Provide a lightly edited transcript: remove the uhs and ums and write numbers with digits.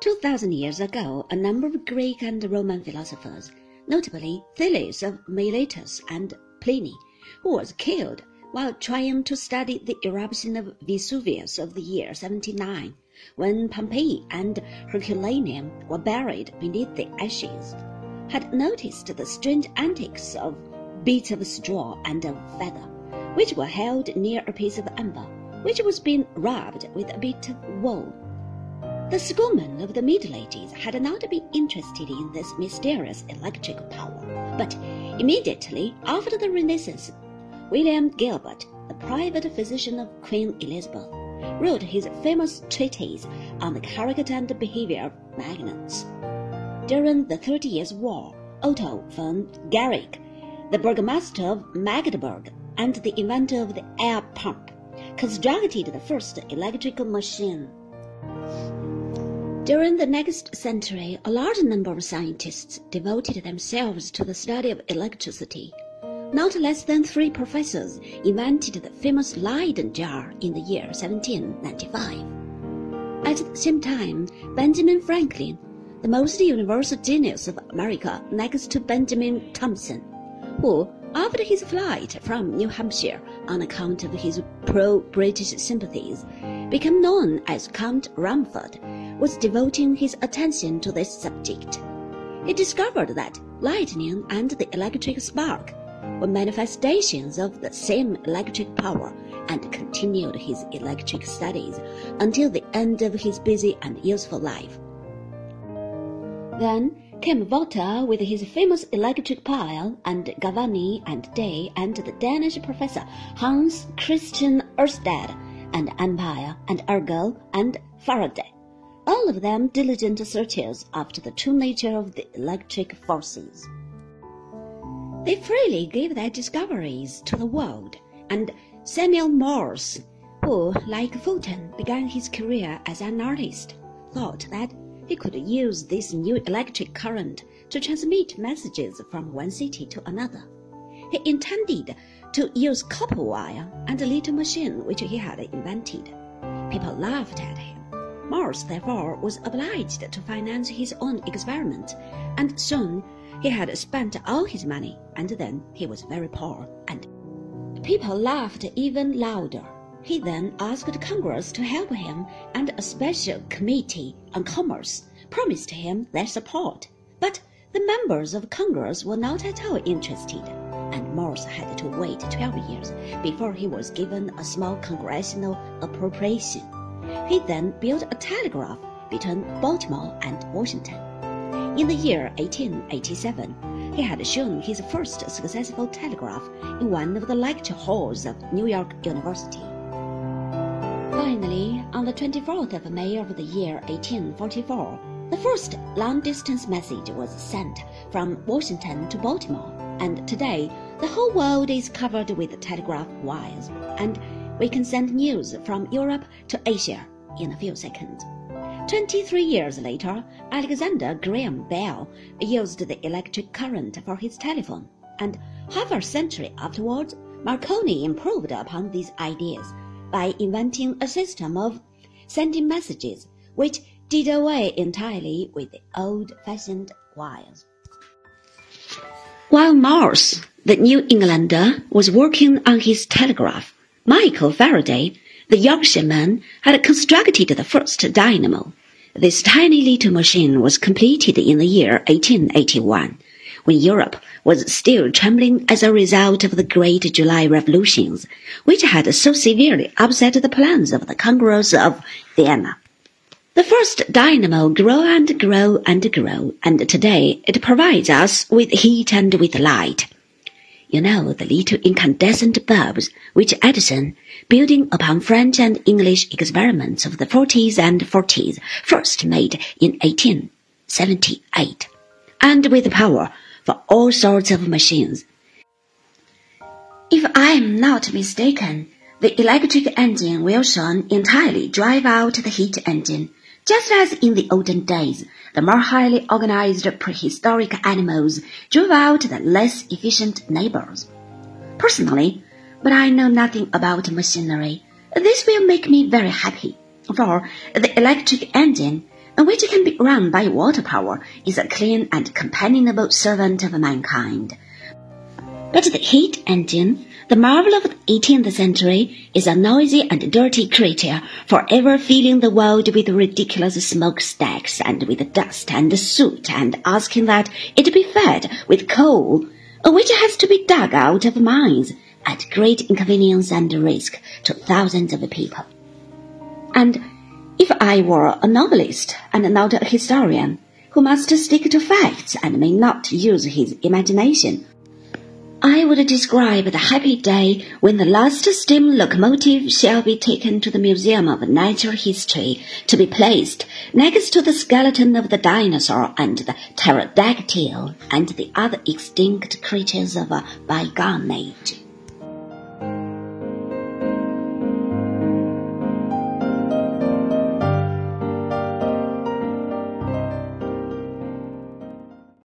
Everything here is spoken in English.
2,000 years ago, a number of Greek and Roman philosophers, notably Thales of Miletus and Pliny, who was killed while trying to study the eruption of Vesuvius of the year 79, when Pompeii and Herculaneum were buried beneath the ashes, had noticed the strange antics of bits of straw and of feather, which were held near a piece of amber, which was being rubbed with a bit of wool. The schoolmen of the Middle Ages had not been interested in this mysterious electric power, but immediately after the Renaissance, William Gilbert, the private physician of Queen Elizabeth, wrote his famous treatise on the character and behavior of magnets. During the 30 Years' War, Otto von Guericke, the burgomaster of Magdeburg and the inventor of the air pump, constructed the first electrical machine. During the next century, a large number of scientists devoted themselves to the study of electricity. Not less than 3 professors invented the famous Leyden jar in the year 1795. At the same time, Benjamin Franklin, the most universal genius of America next to Benjamin Thompson, who, after his flight from New Hampshire on account of his pro-British sympathies, became known as Count Rumford, was devoting his attention to this subject. He discovered that lightning and the electric spark were manifestations of the same electric power and continued his electric studies until the end of his busy and useful life. Then came Volta with his famous electric pile, and Galvani and Day and the Danish professor Hans Christian Ørsted, and Ampere and Ergo and Faraday, all of them diligent searchers after the true nature of the electric forces. They freely gave their discoveries to the world, and Samuel Morse, who, like Fulton, began his career as an artist, thought that he could use this new electric current to transmit messages from one city to another. He intended to use copper wire and a little machine which he had invented. People laughed at him. Morse, therefore, was obliged to finance his own experiment, and soon he had spent all his money, and then he was very poor, and people laughed even louder. He then asked Congress to help him, and a special committee on commerce promised him their support. But the members of Congress were not at all interested, and Morse had to wait 12 years before he was given a small congressional appropriation. He then built a telegraph between Baltimore and Washington. In the year 1887, he had shown his first successful telegraph in one of the lecture halls of New York University. Finally, on the 24th of May of the year 1844, the first long-distance message was sent from Washington to Baltimore, and today the whole world is covered with telegraph wires, and we can send news from Europe to Asia in a few seconds. 23 years later, Alexander Graham Bell used the electric current for his telephone, and half a century afterwards, Marconi improved upon these ideas by inventing a system of sending messages which did away entirely with the old-fashioned wires. While Morse, the New Englander, was working on his telegraph, Michael Faraday, the Yorkshireman, had constructed the first dynamo. This tiny little machine was completed in the year 1881, when Europe was still trembling as a result of the Great July Revolutions, which had so severely upset the plans of the Congress of Vienna. The first dynamo grew and grew and grew, and today it provides us with heat and with light. You know, the little incandescent bulbs which Edison, building upon French and English experiments of the 40s and 40s, first made in 1878, and with power for all sorts of machines. If I am not mistaken, the electric engine will soon entirely drive out the heat engine, just as in the olden days, the more highly organized prehistoric animals drove out the less efficient neighbors. Personally, but I know nothing about machinery, this will make me very happy, for the electric engine, and which can be run by water power, is a clean and companionable servant of mankind. But the heat engine, the marvel of the 18th century, is a noisy and dirty creature, forever filling the world with ridiculous smokestacks and with dust and soot, and asking that it be fed with coal, which has to be dug out of mines, at great inconvenience and risk to thousands of people. And if I were a novelist and not a historian, who must stick to facts and may not use his imagination, I would describe the happy day when the last steam locomotive shall be taken to the Museum of Natural History to be placed next to the skeleton of the dinosaur and the pterodactyl and the other extinct creatures of a bygone age.